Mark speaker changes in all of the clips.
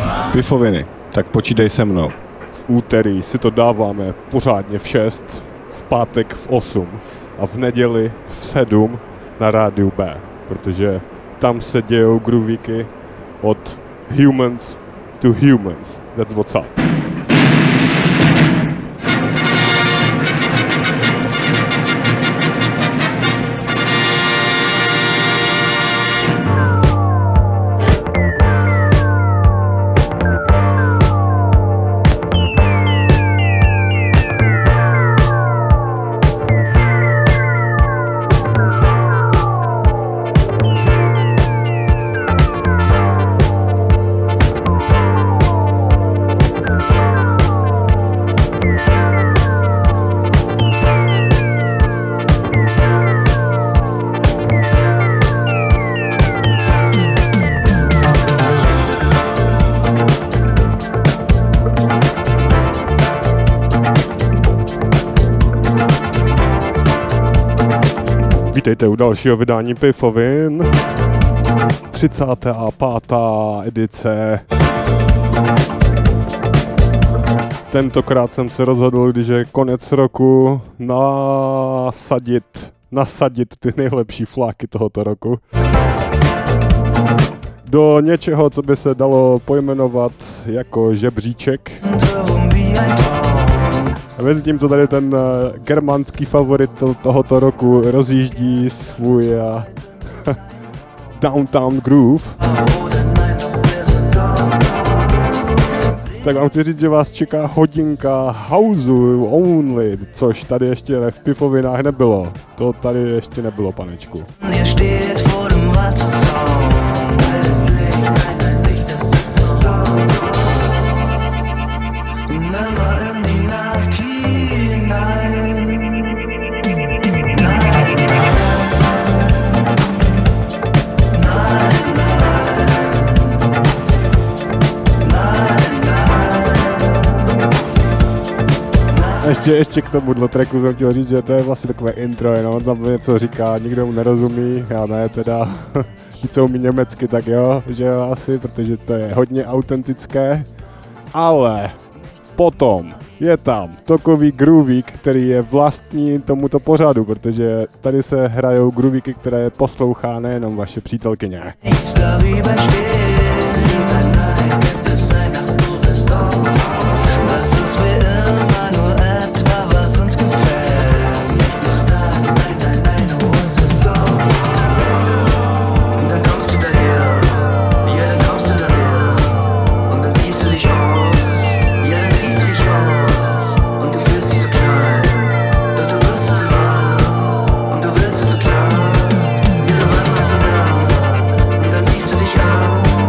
Speaker 1: Pifoviny, tak počítej se mnou. V úterý si to dáváme pořádně v 6, v pátek v 8 a v neděli v 7 na rádiu B, protože tam se dějou groovíky od humans to humans. That's what's up. Vítejte u dalšího vydání Pifovin. 35. edice. Tentokrát jsem se rozhodl, když je konec roku, nasadit ty nejlepší fláky tohoto roku do něčeho, co by se dalo pojmenovat jako žebříček. A mezi tím, co tady ten germánský favorit tohoto roku rozjíždí svůj Downtown Groove, tak vám chci říct, že vás čeká hodinka Houseu Only, což tady ještě v Pifovinách nebylo. To tady ještě nebylo, panečku. Ještě k tomuhle tracku jsem chtěl říct, že to je vlastně takové intro, jenom on tam něco říká, nikdo mu nerozumí, já ne teda, ti co umí německy, tak jo, že jo asi, protože to je hodně autentické, ale potom je tam takový groovík, který je vlastní tomuto pořadu, protože tady se hrajou groovíky, které poslouchá nejenom vaše přítelkyně.
Speaker 2: Dich an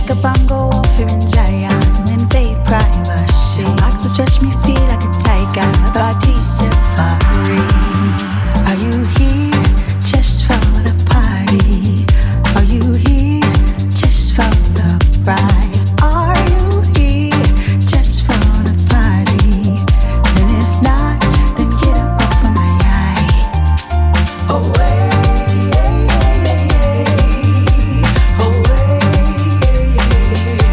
Speaker 2: like a bongo off in giant in vape privacy. Likes to stretch me, feel like a tiger, body safari. Are you here just for the party? Are you here just for the ride? Are you here just for the party? And if not, then get up off of my eye. Away. Away.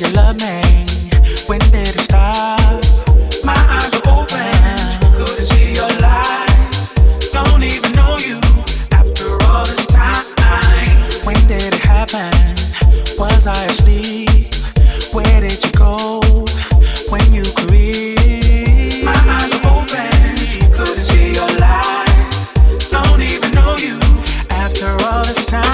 Speaker 3: you love me? When did it stop? My eyes were open, couldn't see your lies. Don't even know you after all this time. When did it happen? Was I asleep? Where did you go when you creep? My eyes were open, couldn't see your lies. Don't even know you after all this time.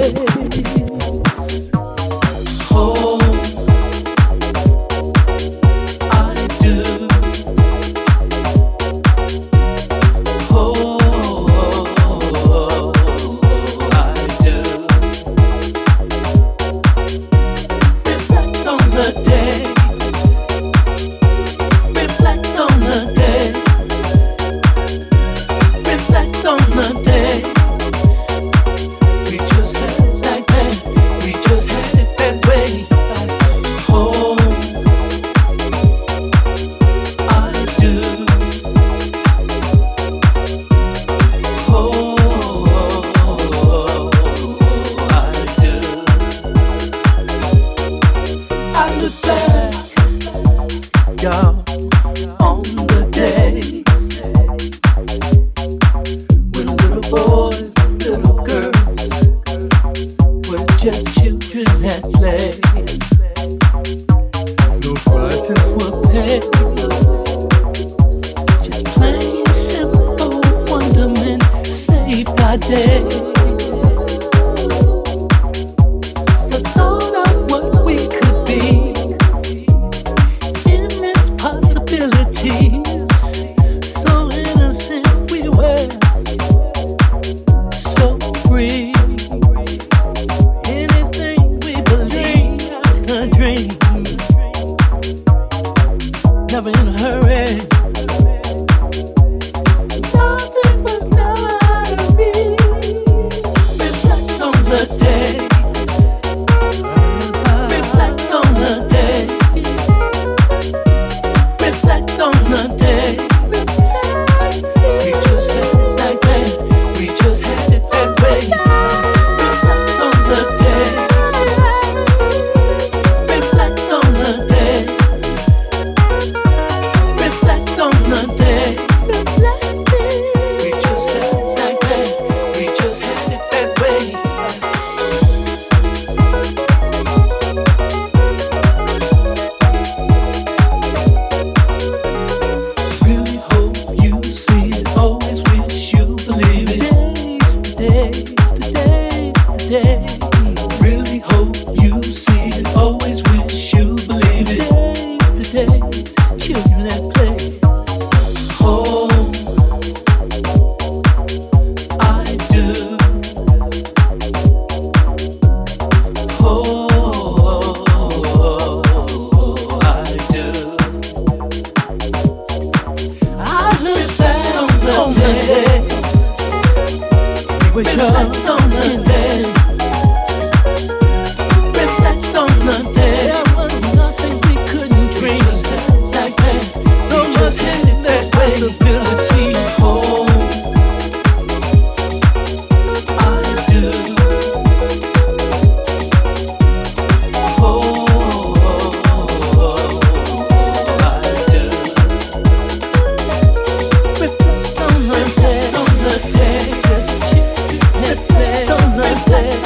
Speaker 4: Play.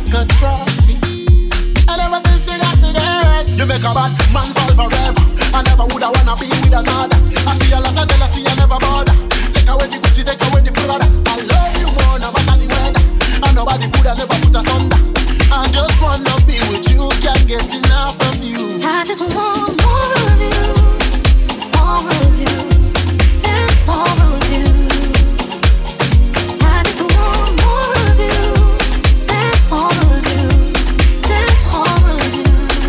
Speaker 4: like a trophy. And ever since you got me there, you make a bad man fall forever. I never woulda wanna be with another. I see a lot of jealousy, I never bother. Take away the Gucci, take away the Prada. I love you more, no matter the weather. And nobody coulda never put us under. I just wanna be with you, can't get enough of you.
Speaker 2: I just want more of you, more of you, and more of you. I just want more of you, and more of you, and more of you.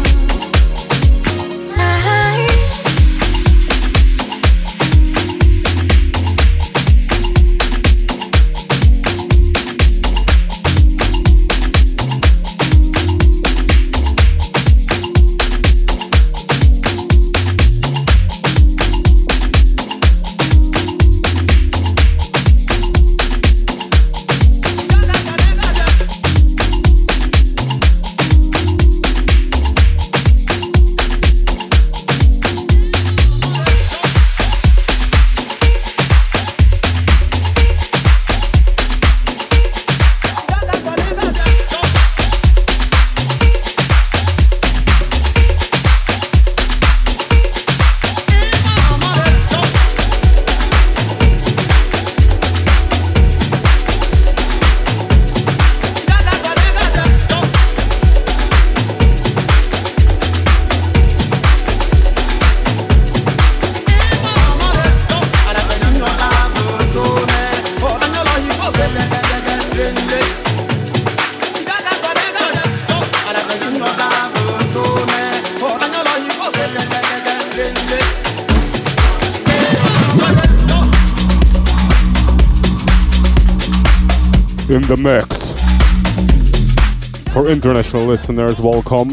Speaker 1: In the mix. For international listeners, welcome.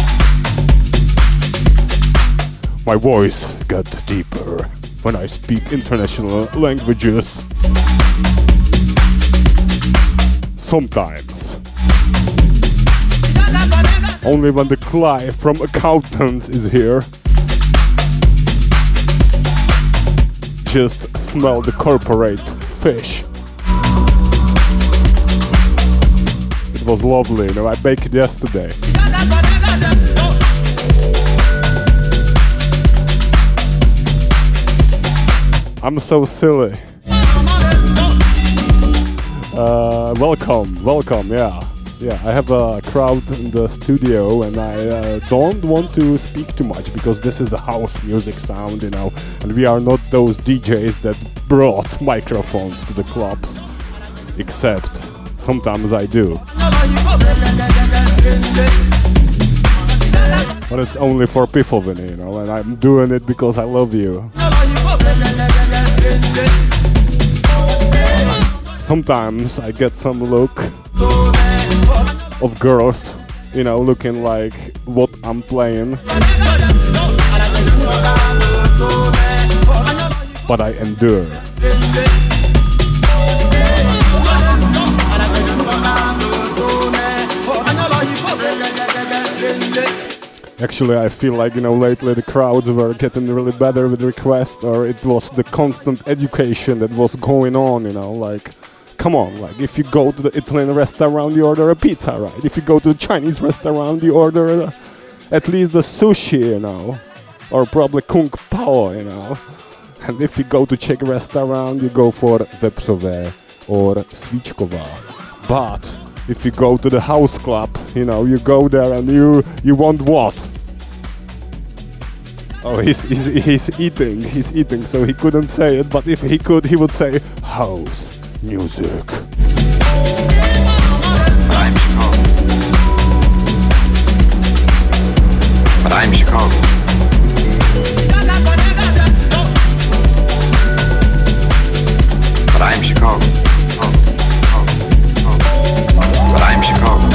Speaker 1: My voice got deeper when I speak international languages. Sometimes. Only when the Clive from accountants is here. Just smell the corporate fish. It was lovely, you know, I baked it yesterday. I'm so silly. Welcome, yeah. I have a crowd in the studio and I don't want to speak too much because this is the house music sound, you know, and we are not those DJs that brought microphones to the clubs, except sometimes I do. But it's only for Pifoviny, you know, and I'm doing it because I love you. Sometimes I get some look of girls, you know, looking like what I'm playing. But I endure. Actually, I feel like, you know, lately the crowds were getting really better with requests, or it was the constant education that was going on, you know, like, come on, like, if you go to the Italian restaurant, you order a pizza, right? If you go to the Chinese restaurant, you order at least the sushi, you know, or probably Kung Pao, you know. And if you go to Czech restaurant, you go for vepřové or svíčková. But if you go to the house club, you know, you go there and you want what? Oh, he's eating, so he couldn't say it, but if he could, he would say house music.
Speaker 5: But I'm Chicago. But I'm Chicago. But I'm Chicago.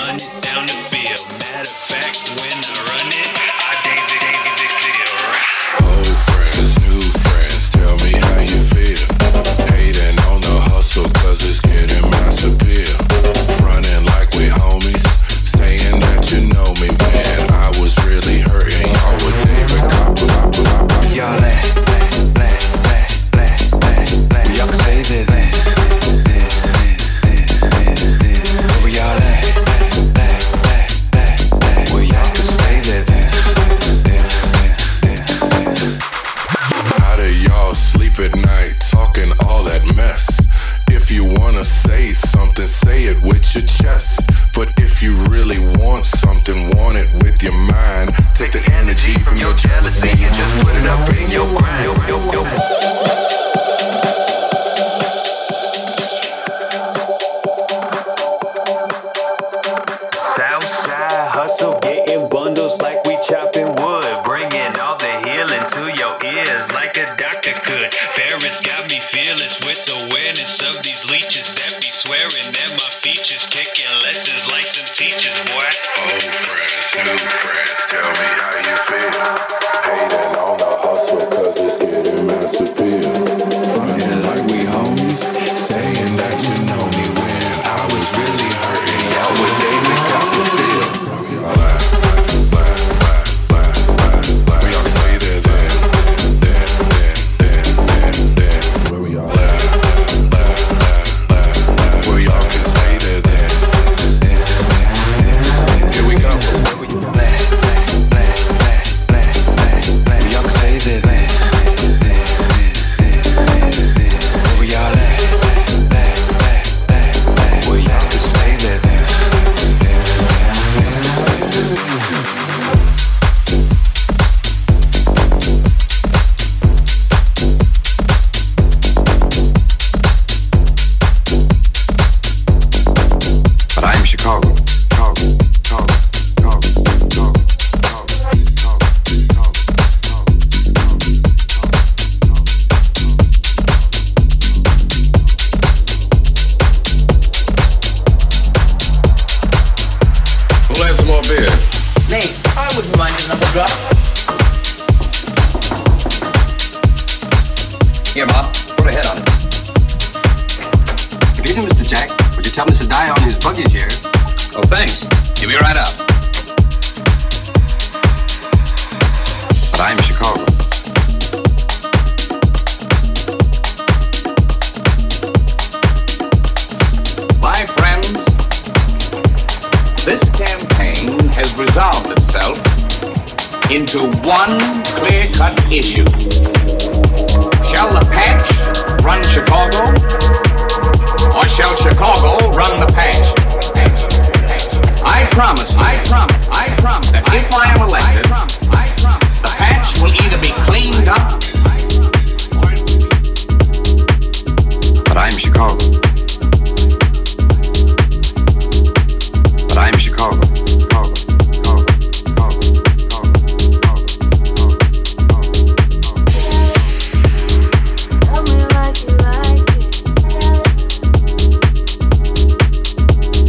Speaker 3: run it down the field. Matter of fact, when I run it, I David clear.
Speaker 6: Old friends, new friends, tell me how you feel. Hating on the hustle 'cause it's getting mass appeal. Fronting like we homies, saying that you know me when I was really hurting. Y'all with David Copper.
Speaker 3: Y'all y'all can say that. Where y'all at? Where y'all can stay there.
Speaker 6: How do y'all sleep at night talking all that mess? If you wanna say something, say it with your chest. But if you really want something, want it with your mind. Take the energy from your jealousy and just put it up in your grind.
Speaker 3: Southside hustle, getting bundles like we chopping wood, bringing all the healing to your ears like a doctor could. Ferris got me fearless with awareness of these leeches that be swearing that my features kicking lessons like some teachers, boy.
Speaker 6: Old friends, new friends, tell me how you feel. Hating on the hustle 'cause it's getting mass appeal. Fronting like we homies, saying that you know me when I was really hurting. Y'all with David Copperfield. Y'all at, we all can say that then. Where we all at, where y'all can say that then. Here we go.
Speaker 3: Y'all can say that. Where y'all at? Where y'all can stay there.
Speaker 5: But I'm Chicago.
Speaker 6: Who'll have some more beer?
Speaker 7: Me, I wouldn't mind another drop.
Speaker 5: Here, Bob, put a head on it. Good evening, Mr. Jack. Would you tell Mr. Dye on his buggy chair? Oh, thanks. He'll be right out. But I'm Chicago.
Speaker 8: My friends, this campaign has resolved itself into one clear-cut issue. Shall the patch run Chicago, or shall Chicago run the patch? I promise that if I am elected, the patch will either be cleaned up.
Speaker 5: But I'm Chicago. But I'm Chicago.
Speaker 2: Tell me like you like it.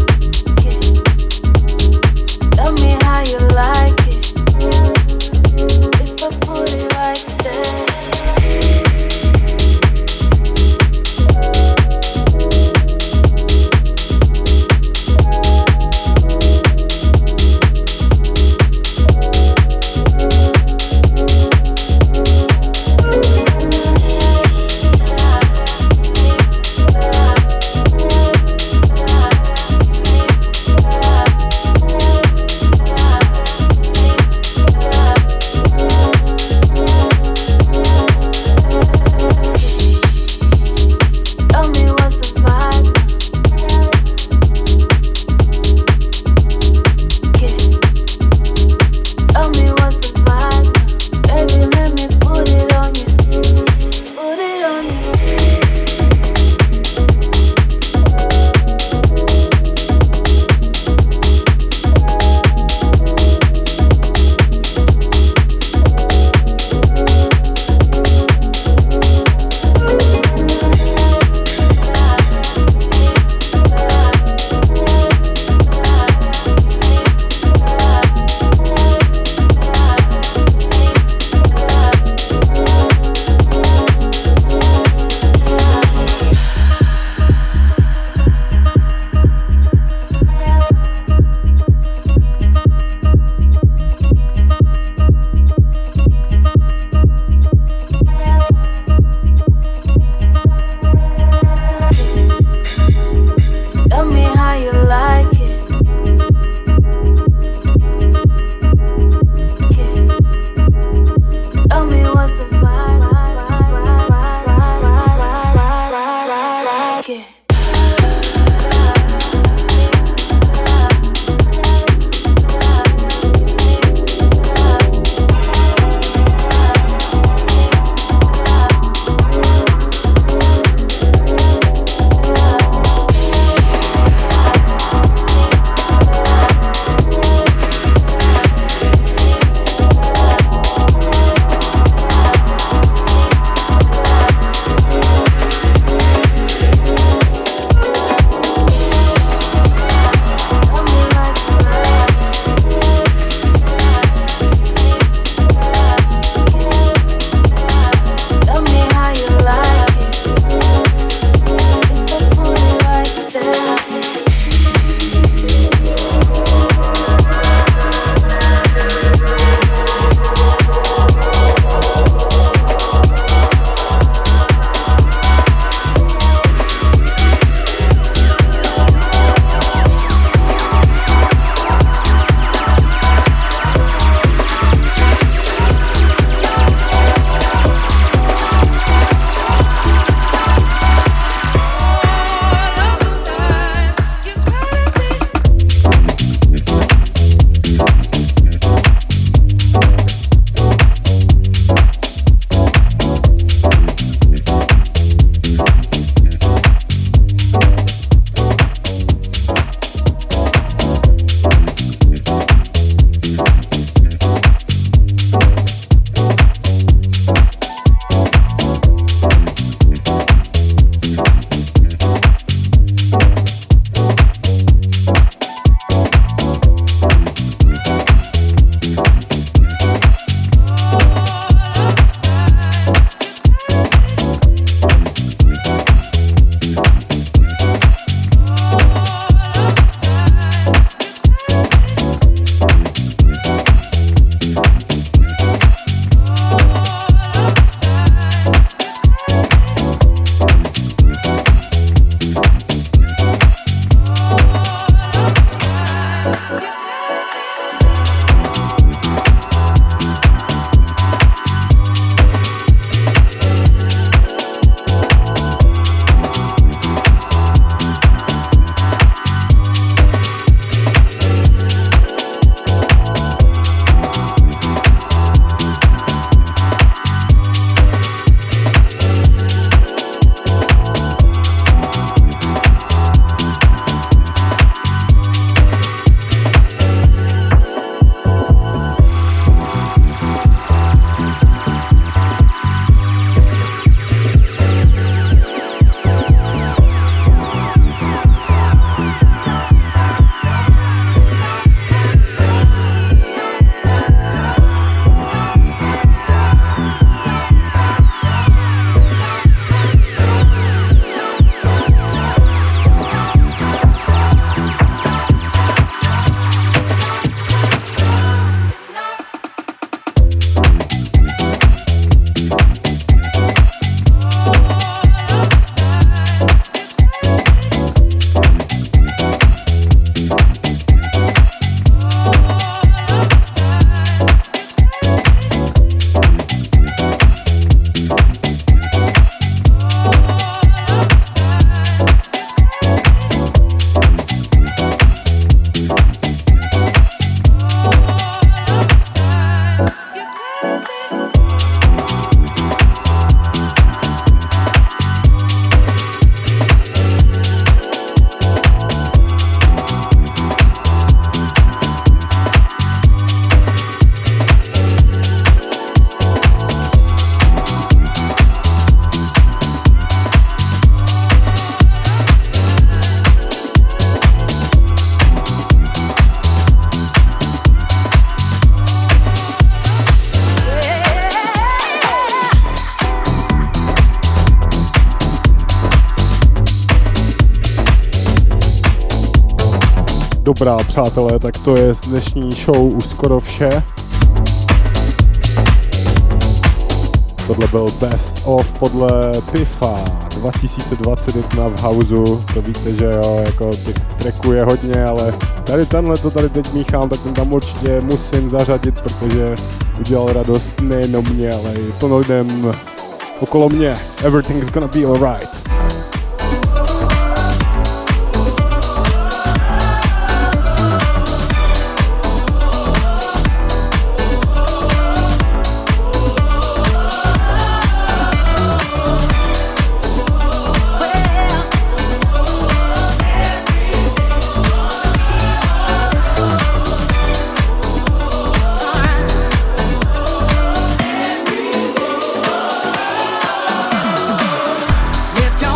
Speaker 1: Dobrá, přátelé, tak to je z dnešní show už skoro vše. Tohle byl Best of podle Pifa 2021 v Houseu. To víte, že jo, jako těch tracků je hodně, ale tady tenhle, co tady teď míchám, tak ten tam určitě musím zařadit, protože udělal radost nejenom mě, ale i plno lidem okolo mě. Everything's gonna be alright.
Speaker 2: Lift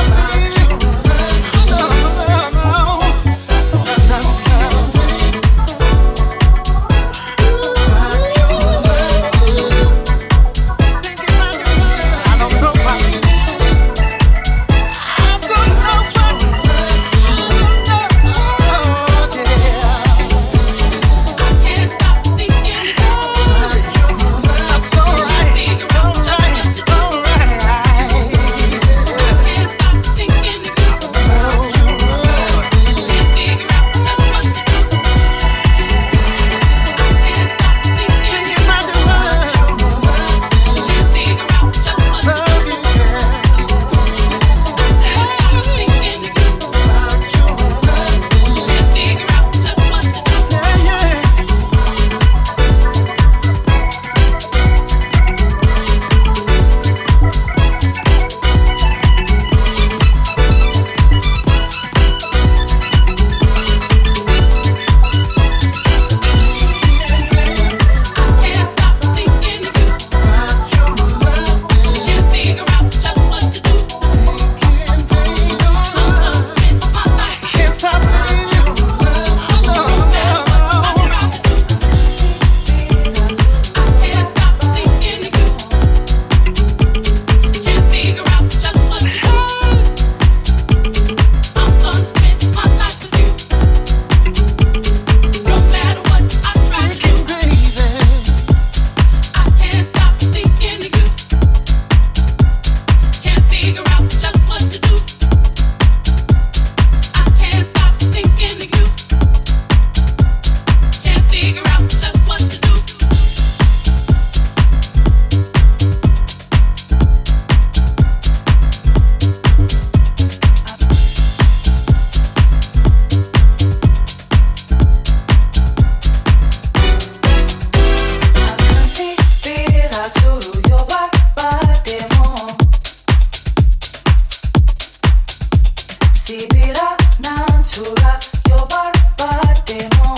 Speaker 2: Sibira natura yo barbademo